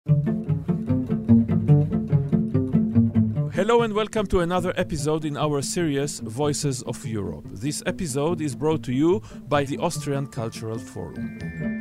Hello and welcome to another episode in our series Voices of Europe. This episode is brought to you by the Austrian Cultural Forum.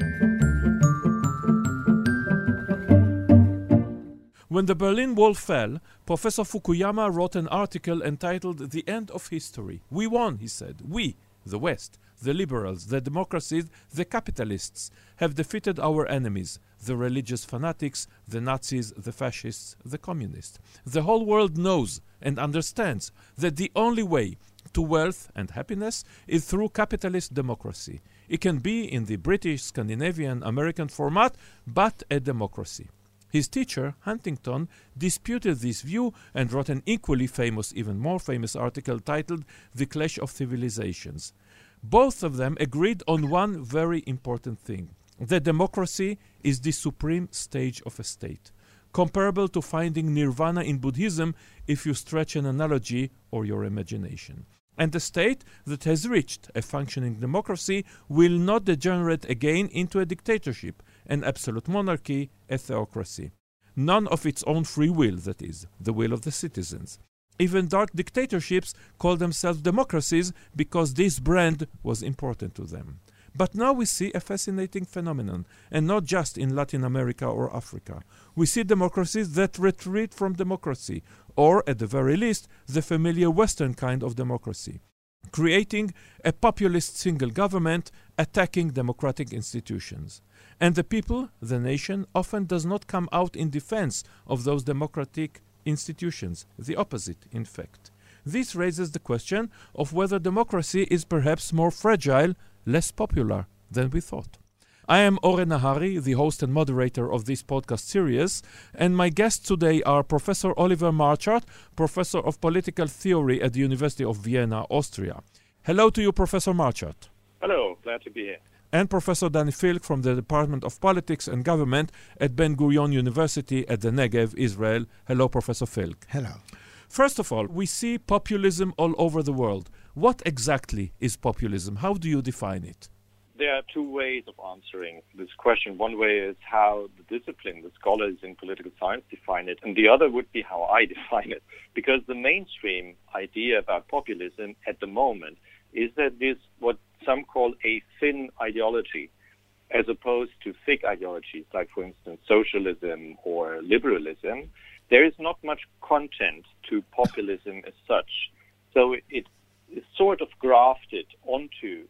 When the Berlin Wall fell, Professor Fukuyama wrote an article entitled The End of History. We won, he said. We, the West, the liberals, the democracies, the capitalists, have defeated our enemies, the religious fanatics, the Nazis, the fascists, the communists. The whole world knows and understands that the only way to wealth and happiness is through capitalist democracy. It can be in the British, Scandinavian, American format, but a democracy. His teacher, Huntington, disputed this view and wrote an equally famous, even more famous article titled The Clash of Civilizations. Both of them agreed on one very important thing. That democracy is the supreme stage of a state, comparable to finding nirvana in Buddhism if you stretch an analogy or your imagination. And a state that has reached a functioning democracy will not degenerate again into a dictatorship, an absolute monarchy, a theocracy. None of its own free will, that is, the will of the citizens. Even dark dictatorships call themselves democracies because this brand was important to them. But now we see a fascinating phenomenon, and not just in Latin America or Africa. We see democracies that retreat from democracy, or at the very least, the familiar Western kind of democracy, creating a populist single government attacking democratic institutions. And the people, the nation, often does not come out in defense of those democratic institutions, the opposite, in fact. This raises the question of whether democracy is perhaps more fragile, less popular than we thought. I am Oren Nahari, the host and moderator of this podcast series, and my guests today are Professor Oliver Marchart, Professor of Political Theory at the University of Vienna, Austria. Hello to you, Professor Marchart. Hello, glad to be here. And Professor Danny Filk from the Department of Politics and Government at Ben Gurion University at the Negev, Israel. Hello, Professor Filk. Hello. First of all, we see populism all over the world. What exactly is populism? How do you define it? There are two ways of answering this question. One way is how the discipline, the scholars in political science define it, and the other would be how I define it. Because the mainstream idea about populism at the moment is that it is what some call a thin ideology, as opposed to thick ideologies, like, for instance, socialism or liberalism. There is not much content to populism as such. So it is sort of grafted onto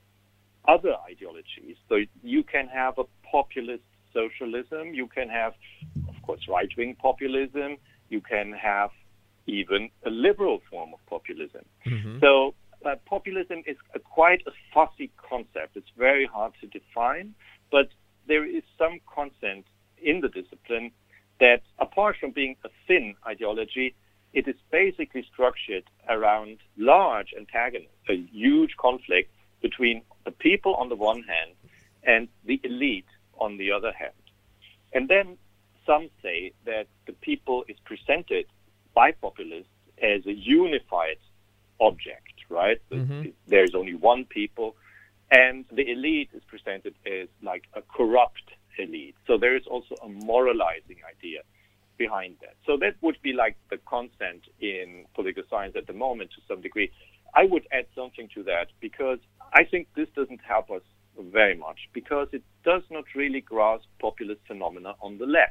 other ideologies. So you can have a populist socialism, you can have, of course, right-wing populism, you can have even a liberal form of populism. Mm-hmm. So populism is quite a fussy concept. It's very hard to define, but there is some consent in the discipline that, apart from being a thin ideology, it is basically structured around large antagonists, a huge conflict between the people on the one hand and the elite on the other hand. And then some say that the people is presented by populists as a unified object, right? Mm-hmm. There's only one people, and the elite is presented as like a corrupt elite. So there is also a moralizing idea behind that. So that would be like the constant in political science at the moment to some degree. I would add something to that because I think this doesn't help us very much because it does not really grasp populist phenomena on the left.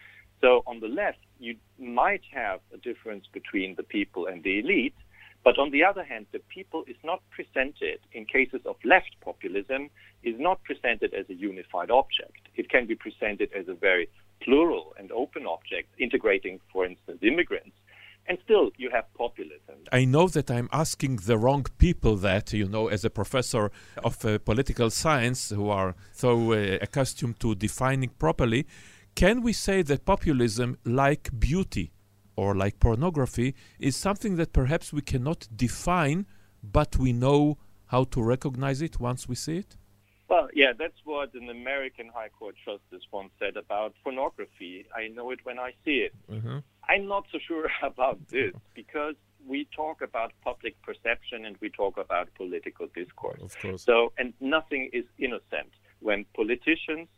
So on the left, you might have a difference between the people and the elite, but on the other hand, the people is not presented, in cases of left populism, is not presented as a unified object. It can be presented as a very plural and open object, integrating, for instance, immigrants. And still, you have populism. I know that I'm asking the wrong people that, as a professor of political science who are so accustomed to defining properly. Can we say that populism, like beauty or like pornography, is something that perhaps we cannot define, but we know how to recognize it once we see it? Well, yeah, that's what an American High Court justice once said about pornography. I know it when I see it. Mm-hmm. I'm not so sure about this because we talk about public perception and we talk about political discourse. Of course. So, and nothing is innocent. When politicians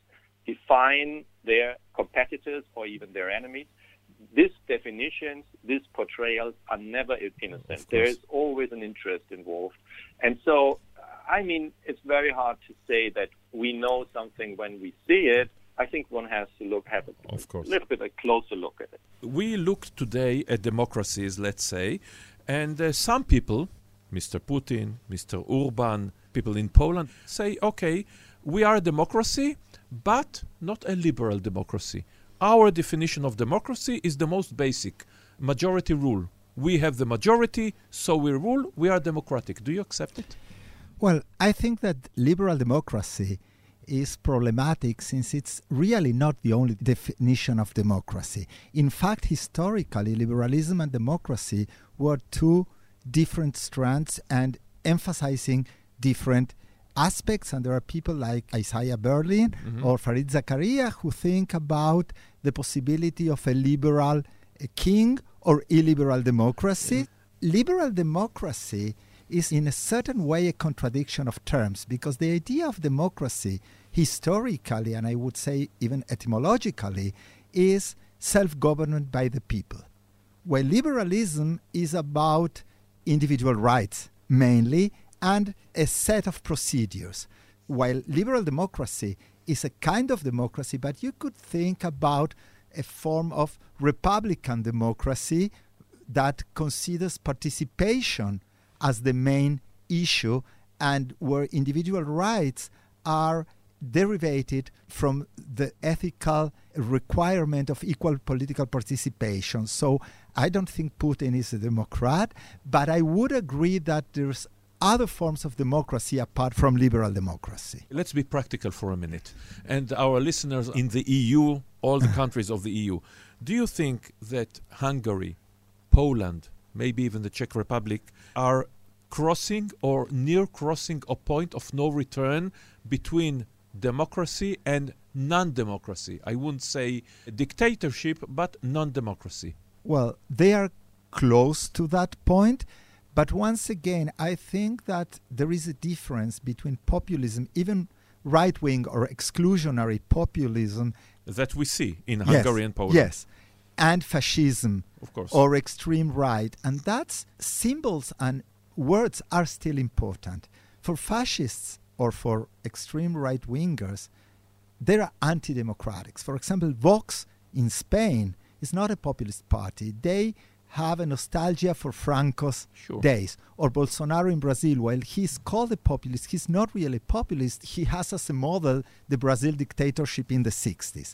define their competitors or even their enemies. These definitions, these portrayals are never innocent. There is always an interest involved. And so, I mean, it's very hard to say that we know something when we see it. I think one has to have a little bit a closer look at it. We look today at democracies, let's say, and some people, Mr. Putin, Mr. Orban, people in Poland, say, okay, we are a democracy, but not a liberal democracy. Our definition of democracy is the most basic, majority rule. We have the majority, so we rule, we are democratic. Do you accept it? Well, I think that liberal democracy is problematic since it's really not the only definition of democracy. In fact, historically, liberalism and democracy were two different strands and emphasizing different aspects, and there are people like Isaiah Berlin or Fareed Zakaria who think about the possibility of a liberal king or illiberal democracy. Liberal democracy is in a certain way a contradiction of terms, because the idea of democracy historically, and I would say even etymologically, is self-government by the people, while liberalism is about individual rights mainly and a set of procedures. While liberal democracy is a kind of democracy, but you could think about a form of republican democracy that considers participation as the main issue and where individual rights are derivated from the ethical requirement of equal political participation. So I don't think Putin is a democrat, but I would agree that there's other forms of democracy apart from liberal democracy. Let's be practical for a minute. And our listeners in the EU, all the countries of the EU, do you think that Hungary, Poland, maybe even the Czech Republic, are crossing or near crossing a point of no return between democracy and non-democracy? I wouldn't say dictatorship, but non-democracy. Well, they are close to that point. But once again, I think that there is a difference between populism, even right-wing or exclusionary populism. That we see in Hungary and Poland. Yes, and fascism, of course, or extreme right. And that's symbols and words are still important. For fascists or for extreme right-wingers, they are anti-democratic. For example, Vox in Spain is not a populist party. They have a nostalgia for Franco's days. Or Bolsonaro in Brazil, while he's called a populist, he's not really populist. He has as a model the Brazil dictatorship in the 60s.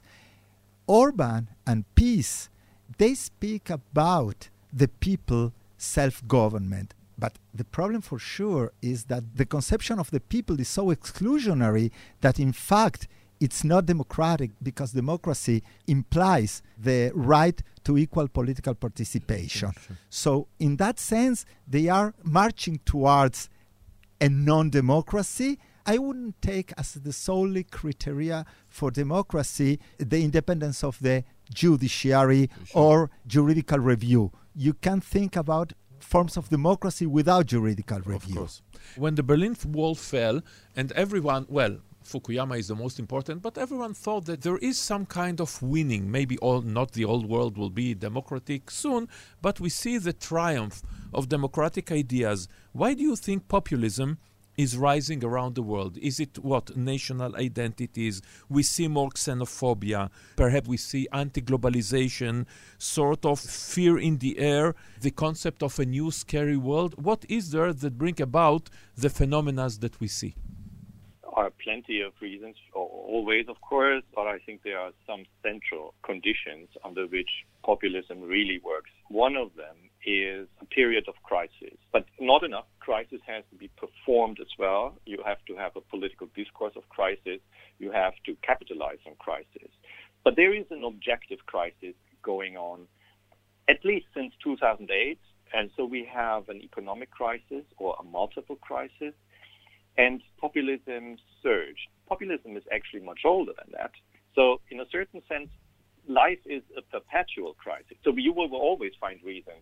Orban and PiS, they speak about the people self-government. But the problem for sure is that the conception of the people is so exclusionary that in fact it's not democratic, because democracy implies the right to equal political participation. Sure. So in that sense, they are marching towards a non-democracy. I wouldn't take as the solely criteria for democracy the independence of the judiciary or juridical review. You can think about forms of democracy without juridical review. Of course. When the Berlin Wall fell and everyone, well, Fukuyama is the most important, but everyone thought that there is some kind of winning. Maybe not the old world will be democratic soon, but we see the triumph of democratic ideas. Why do you think populism is rising around the world? Is it what? National identities? We see more xenophobia. Perhaps we see anti-globalization, sort of fear in the air, the concept of a new scary world. What is there that bring about the phenomena that we see? Are plenty of reasons, always, of course, but I think there are some central conditions under which populism really works. One of them is a period of crisis, but not enough. Crisis has to be performed as well. You have to have a political discourse of crisis. You have to capitalize on crisis. But there is an objective crisis going on, at least since 2008. And so we have an economic crisis or a multiple crisis. And populism surged. Populism is actually much older than that. So in a certain sense, life is a perpetual crisis. So you will always find reasons,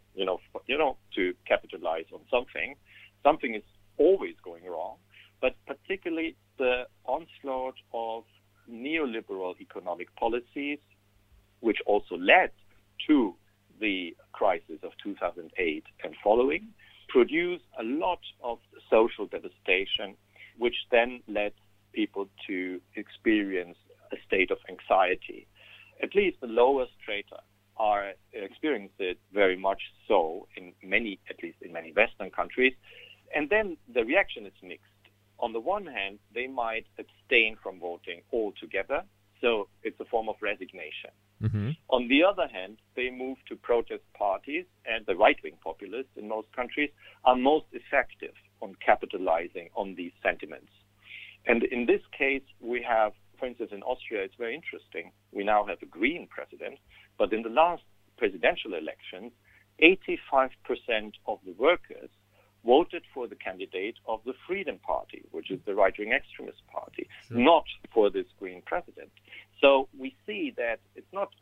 to capitalize on something. Something is always going wrong. But particularly the onslaught of neoliberal economic policies, which also led to the crisis of 2008 and following, produced a lot of social devastation, which then led people to experience a state of anxiety. At least the lower strata are experiencing it very much so in many Western countries. And then the reaction is mixed. On the one hand, they might abstain from voting altogether, so it's a form of resignation. Mm-hmm. On the other hand, they move to protest parties, and the right-wing populists in most countries are most effective on capitalizing on these sentiments. And in this case, we have, for instance, in Austria, it's very interesting. We now have a Green president, but in the last presidential elections, 85% of the workers voted for the candidate of the Freedom Party, which is the right-wing extremist party, not for this Green president. So we see that it's not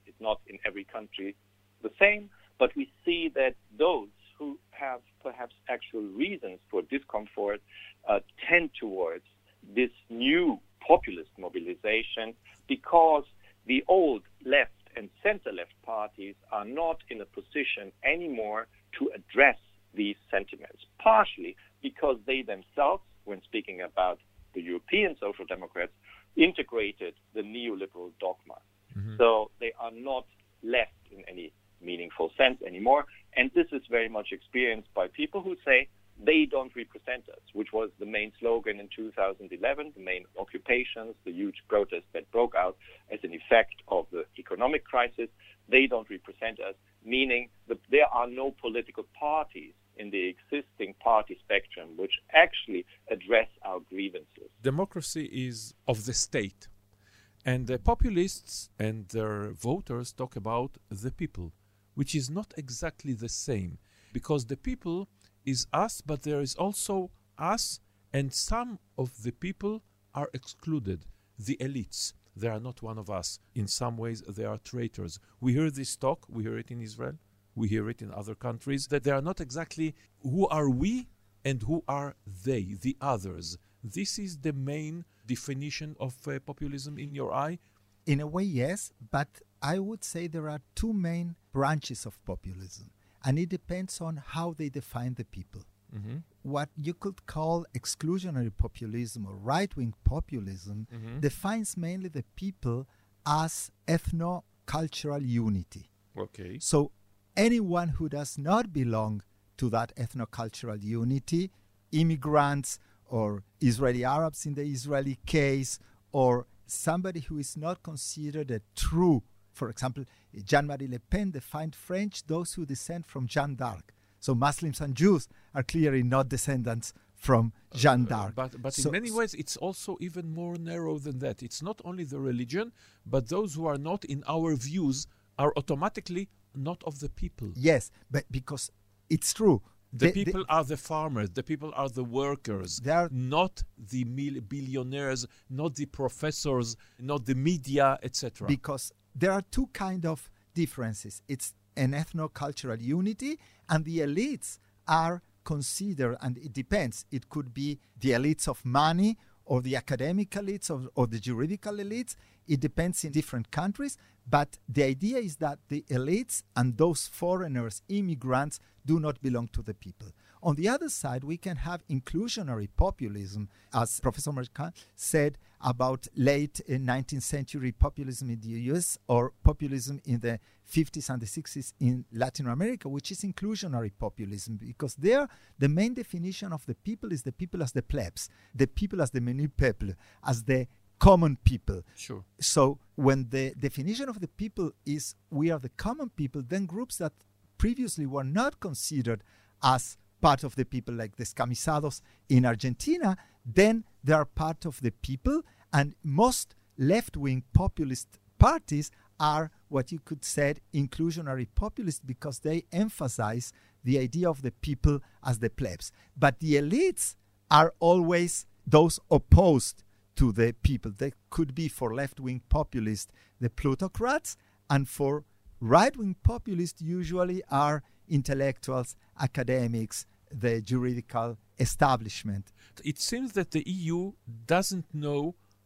in every country the same, but we see that those who have perhaps actual reasons for discomfort tend towards this new populist mobilization because the old left and center-left parties are not in a position anymore to address these sentiments, partially because they themselves, when speaking about the European Social Democrats, integrated the neoliberal dogma. Mm-hmm. So they are not left in any meaningful sense anymore. And this is very much experienced by people who say they don't represent us, which was the main slogan in 2011, the main occupations, the huge protests that broke out as an effect of the economic crisis. They don't represent us, meaning that there are no political parties in the existing party spectrum which actually address our grievances. Democracy is of the state, and the populists and their voters talk about the people, which is not exactly the same, because the people is us, but there is also us, and some of the people are excluded, the elites. They are not one of us. In some ways, they are traitors. We hear this talk, we hear it in Israel, we hear it in other countries, that they are not exactly who are we and who are they, the others. This is the main definition of populism in your eye? In a way, yes, but I would say there are two main branches of populism, and it depends on how they define the people. Mm-hmm. What you could call exclusionary populism or right-wing populism defines mainly the people as ethno-cultural unity. Okay. So anyone who does not belong to that ethno-cultural unity, immigrants or Israeli Arabs in the Israeli case, or somebody who is not considered a true, for example, Jean-Marie Le Pen defined French, those who descend from Jeanne d'Arc. So Muslims and Jews are clearly not descendants from Jeanne d'Arc. But so, in many ways, it's also even more narrow than that. It's not only the religion, but those who are not in our views are automatically not of the people. Yes, but because it's true. The people are the farmers, the people are the workers, not the billionaires, not the professors, not the media, etc. Because there are two kinds of differences. It's an ethno-cultural unity, and the elites are considered, and it depends. It could be the elites of money or the academic elites or the juridical elites. It depends in different countries. But the idea is that the elites and those foreigners, immigrants, do not belong to the people. On the other side, we can have inclusionary populism, as Professor Mercant said about late 19th century populism in the US or populism in the 50s and the 60s in Latin America, which is inclusionary populism, because there the main definition of the people is the people as the plebs, the people as the menu peuple, as the common people. Sure. So when the definition of the people is we are the common people, then groups that previously were not considered as part of the people, like the Scamisados in Argentina, then they are part of the people, and most left-wing populist parties are what you could say inclusionary populist because they emphasize the idea of the people as the plebs. But the elites are always those opposed to the people. They could be for left-wing populists the plutocrats, and for right-wing populists usually are intellectuals, academics, the juridical establishment. It seems that the EU doesn't know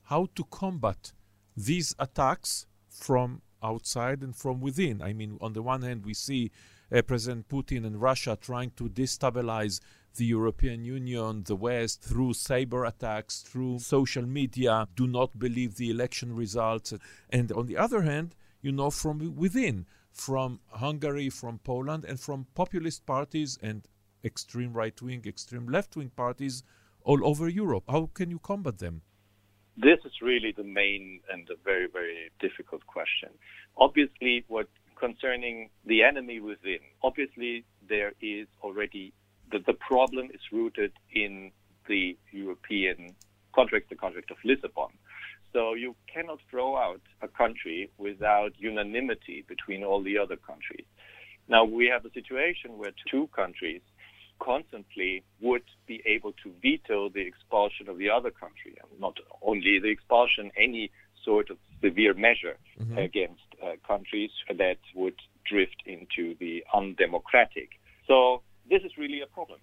how to combat these attacks from outside and from within. I mean, on the one hand, we see President Putin and Russia trying to destabilize the European Union, the West, through cyber attacks, through social media, do not believe the election results. And on the other hand, from within, from Hungary, from Poland, and from populist parties and extreme right-wing, extreme left-wing parties all over Europe. How can you combat them? This is really the main and a very, very difficult question. Obviously, concerning the enemy within, obviously there is already the problem is rooted in the European contract, the contract of Lisbon. So you cannot throw out a country without unanimity between all the other countries. Now we have a situation where two countries constantly would be able to veto the expulsion of the other country, and not only the expulsion, any sort of severe measure against countries that would drift into the undemocratic. So this is really a problem,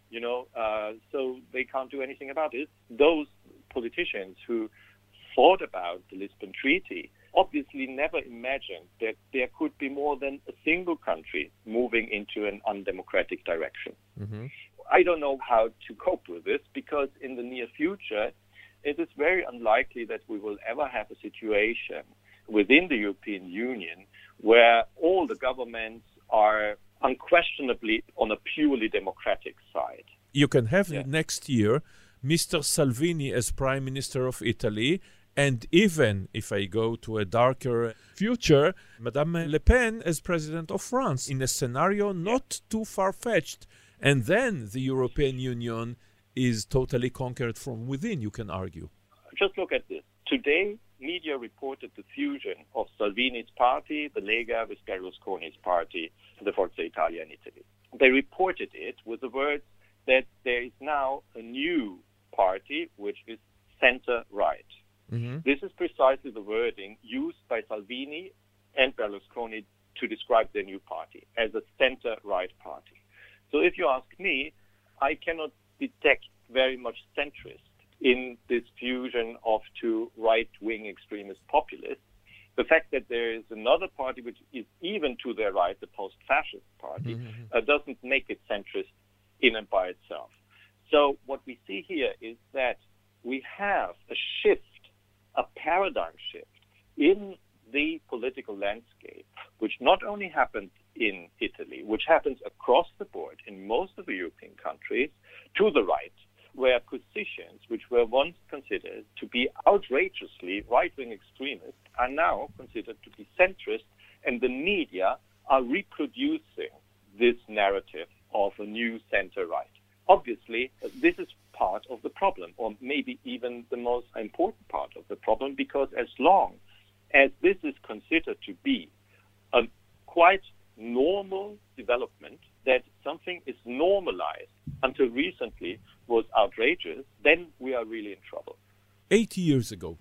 so they can't do anything about it. Those politicians who thought about the Lisbon Treaty obviously never imagined that there could be more than a single country moving into an undemocratic direction. I don't know how to cope with this, because in the near future, it is very unlikely that we will ever have a situation within the European Union where all the governments are unquestionably on a purely democratic side. You can have next year Mr. Salvini as Prime Minister of Italy, and even, if I go to a darker future, Madame Le Pen as President of France, in a scenario not too far-fetched. And then the European Union is totally conquered from within, you can argue. Just look at this. Today, media reported the fusion of Salvini's party, the Lega, with Berlusconi's party, the Forza Italia in Italy. They reported it with the words that there is now a new party, which is center-right. This is precisely the wording used by Salvini and Berlusconi to describe their new party, as a center-right party. So if you ask me, I cannot detect very much centrist in this fusion of two right-wing extremist populists. The fact that there is another party which is even to their right, the post-fascist party, doesn't make it centrist in and by itself. So what we see here is that we have a shift, a paradigm shift in the political landscape, which not only happens in Italy, which happens across the board in most of the European countries, to the right, where positions which were once considered to be outrageously right-wing extremists are now considered to be centrist, and the media are reproducing this narrative of a new center-right. Obviously, this is part of the problem, or maybe even the most important part of the problem, because as long as this is considered to be a quite normal development, that something is normalized until recently was outrageous, then we are really in trouble. 80 years ago,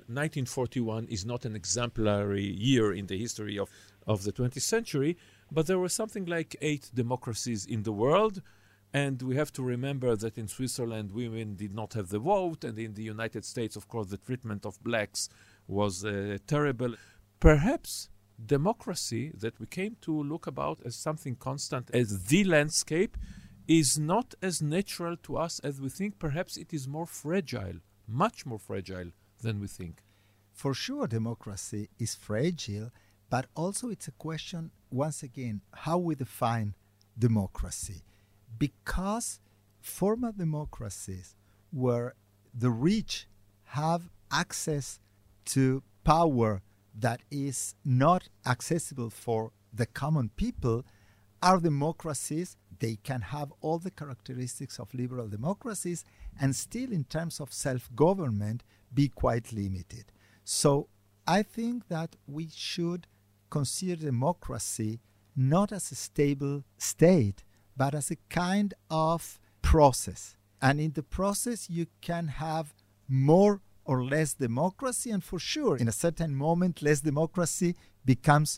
1941 is not an exemplary year in the history of the 20th century, but there were something like 8 democracies in the world. And we have to remember that in Switzerland, women did not have the vote. And in the United States, of course, the treatment of blacks was terrible. Perhaps democracy that we came to look about as something constant, as the landscape, is not as natural to us as we think. Perhaps it is more fragile, much more fragile than we think. For sure, democracy is fragile, but also it's a question, once again, how we define democracy. Because former democracies where the rich have access to power that is not accessible for the common people are democracies. They can have all the characteristics of liberal democracies and still, in terms of self-government, be quite limited. So I think that we should consider democracy not as a stable state, but as a kind of process. And in the process, you can have more or less democracy, and for sure, in a certain moment, less democracy becomes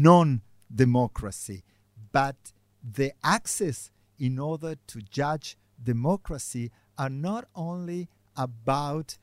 non-democracy. But the access in order to judge democracy are not only about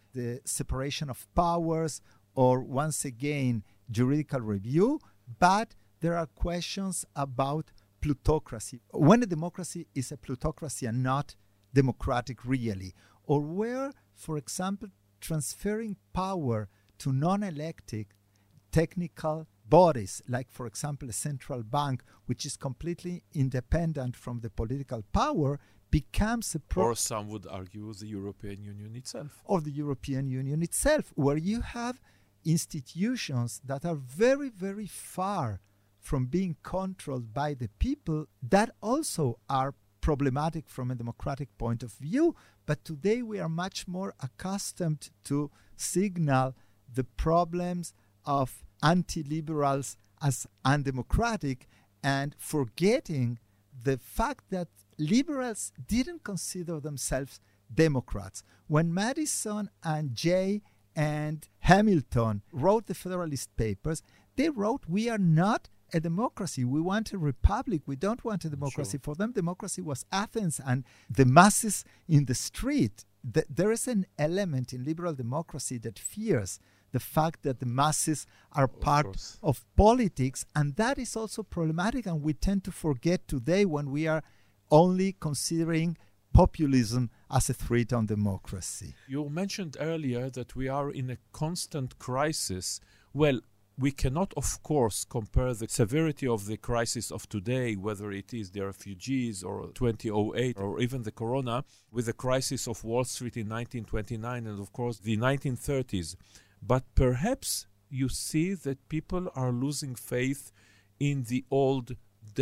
the separation of powers or, once again, juridical review, but there are questions about plutocracy. When a democracy is a plutocracy and not democratic really, or where, for example, transferring power to non-elected technical bodies, like, for example, a central bank, which is completely independent from the political power, becomes a or some would argue the European Union itself. Or the European Union itself, where you have institutions that are very, very far from being controlled by the people, that also are problematic from a democratic point of view. But today we are much more accustomed to signal the problems of anti-liberals as undemocratic and forgetting the fact that liberals didn't consider themselves Democrats. When Madison and Jay and Hamilton wrote the Federalist Papers, they wrote, we are not a democracy. We want a republic. We don't want a democracy. Sure. For them, democracy was Athens and the masses in the street. There is an element in liberal democracy that fears the fact that the masses are part of politics, and that is also problematic, and we tend to forget today when we are only considering populism as a threat on democracy. You mentioned earlier that we are in a constant crisis. Well, we cannot, of course, compare the severity of the crisis of today, whether it is the refugees or 2008 or even the corona, with the crisis of Wall Street in 1929 and, of course, the 1930s. But perhaps you see that people are losing faith in the old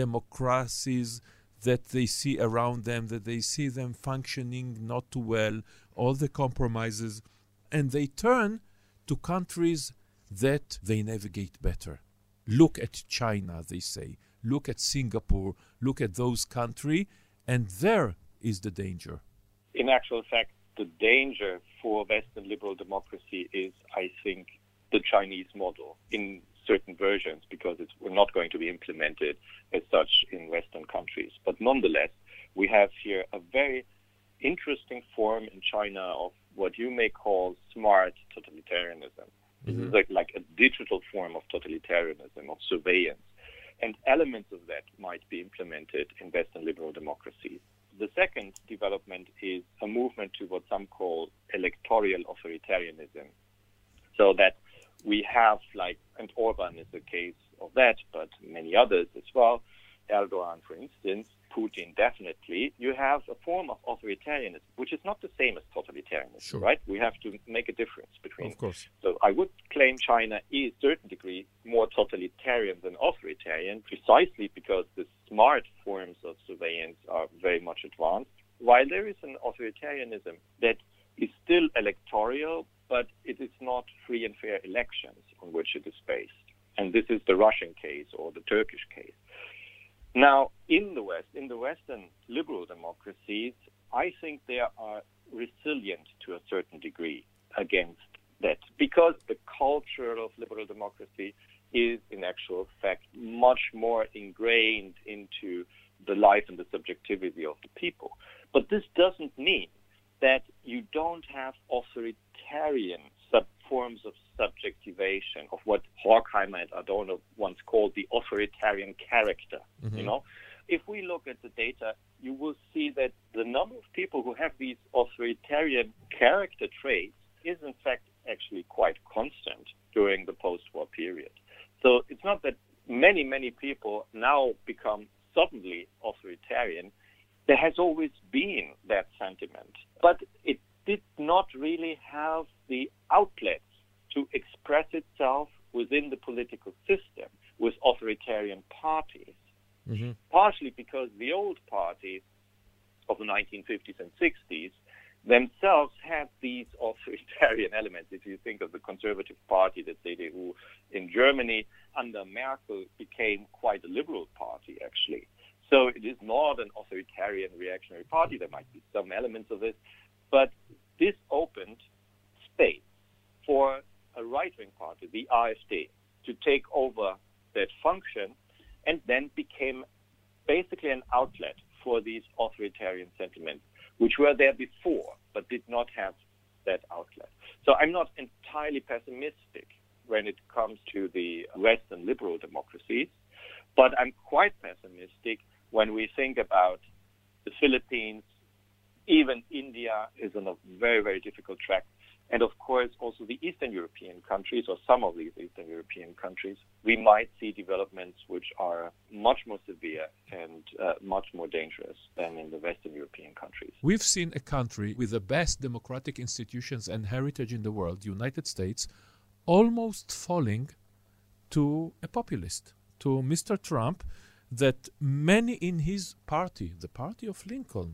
democracies that they see around them, that they see them functioning not too well, all the compromises, and they turn to countries that they navigate better. Look at China, they say. Look at Singapore. Look at those countries, and there is the danger. In actual fact, the danger for Western liberal democracy is, I think, the Chinese model in certain versions, because it's not going to be implemented as such in Western countries. But nonetheless, we have here a very interesting form in China of what you may call smart totalitarianism. Mm-hmm. This is like a digital form of totalitarianism, of surveillance. And elements of that might be implemented in Western liberal democracies. The second development is a movement to what some call electoral authoritarianism. So that we have, like, and Orban is a case of that, but many others as well, Erdogan, for instance, Putin, definitely, you have a form of authoritarianism, which is not the same as totalitarianism, Sure. right? We have to make a difference between. Of course. So I would claim China is, to a certain degree, more totalitarian than authoritarian, precisely because the smart forms of surveillance are very much advanced, while there is an authoritarianism that is still electoral, but it is not free and fair elections on which it is based. And this is the Russian case or the Turkish case. Now, in the West, in the Western liberal democracies, I think they are resilient to a certain degree against that, because the culture of liberal democracy is, in actual fact, much more ingrained into the life and the subjectivity of the people. But this doesn't mean that you don't have authoritarian forms of subjectivation, of what Horkheimer and Adorno once called the authoritarian character. Mm-hmm. You know, if we look at the data, you will see that the number of people who have these authoritarian character traits is, in fact, actually quite constant during the post-war period. So it's not that many people now become suddenly authoritarian. There has always been that sentiment, but it did not really have the outlets to express itself within the political system with authoritarian parties. Mm-hmm. Partially because the old parties of the 1950s and 60s themselves had these authoritarian elements. If you think of the Conservative Party, the CDU in Germany, under Merkel became quite a liberal party, actually. So it is not an authoritarian reactionary party. There might be some elements of it. But this opened space for a right-wing party, the AfD, to take over that function, and then became basically an outlet for these authoritarian sentiments, which were there before, but did not have that outlet. So I'm not entirely pessimistic when it comes to the Western liberal democracies, but I'm quite pessimistic when we think about the Philippines. Even India is on a very, very difficult track. And of course, also the Eastern European countries, or some of these Eastern European countries, we might see developments which are much more severe and much more dangerous than in the Western European countries. We've seen a country with the best democratic institutions and heritage in the world, the United States, almost falling to a populist, to Mr. Trump, that many in his party, the party of Lincoln,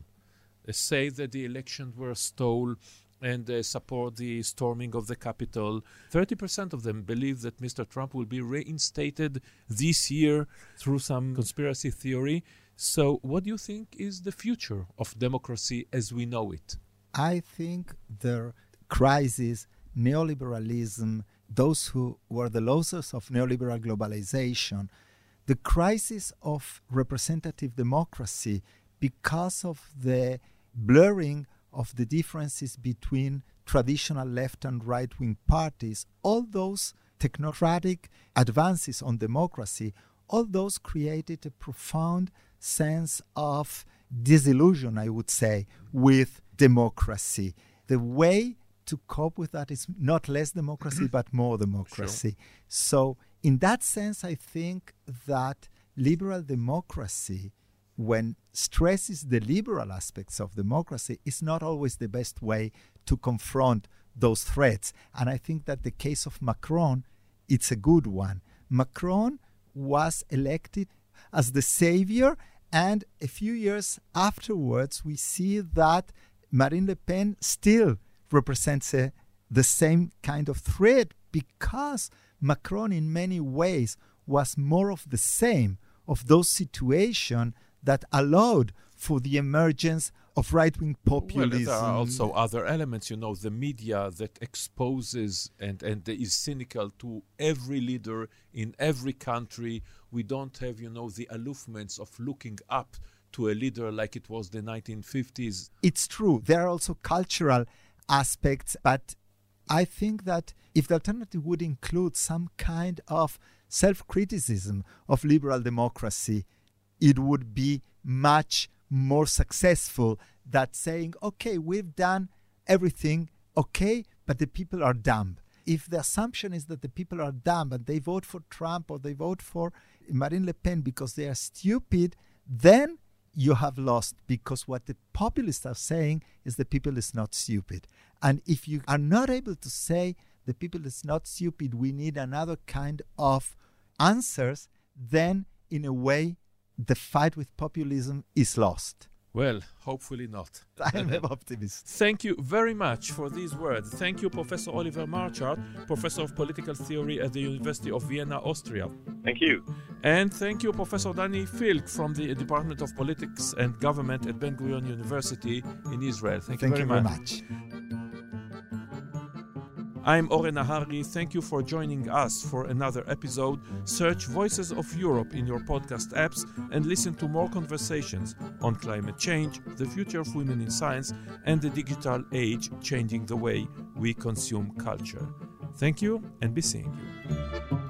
say that the elections were stolen and support the storming of the Capitol. 30% of them believe that Mr. Trump will be reinstated this year through some conspiracy theory. So what do you think is the future of democracy as we know it? I think the crisis, neoliberalism, those who were the losers of neoliberal globalization, the crisis of representative democracy because of the blurring of the differences between traditional left and right-wing parties, all those technocratic advances on democracy, all those created a profound sense of disillusion, I would say, with democracy. The way to cope with that is not less democracy, but more democracy. Sure. So in that sense, I think that liberal democracy, when stresses the liberal aspects of democracy, is not always the best way to confront those threats. And I think that the case of Macron, it's a good one. Macron was elected as the savior, and a few years afterwards, we see that Marine Le Pen still represents the same kind of threat, because Macron in many ways was more of the same of those situations that allowed for the emergence of right-wing populism. Well, there are also other elements, the media that exposes and is cynical to every leader in every country. We don't have, the aloofments of looking up to a leader like it was the 1950s. It's true. There are also cultural aspects, but I think that if the alternative would include some kind of self-criticism of liberal democracy, it would be much more successful than saying, okay, we've done everything, okay, but the people are dumb. If the assumption is that the people are dumb and they vote for Trump or they vote for Marine Le Pen because they are stupid, then you have lost, because what the populists are saying is the people is not stupid. And if you are not able to say the people is not stupid, we need another kind of answers, then in a way the fight with populism is lost. Well, hopefully not. I'm an optimist. Thank you very much for these words. Thank you, Professor Oliver Marchart, Professor of Political Theory at the University of Vienna, Austria. Thank you. And thank you, Professor Dani Filk from the Department of Politics and Government at Ben-Gurion University in Israel. Thank you very much. I'm Oren Nahari. Thank you for joining us for another episode. Search Voices of Europe in your podcast apps and listen to more conversations on climate change, the future of women in science, and the digital age changing the way we consume culture. Thank you, and be seeing you.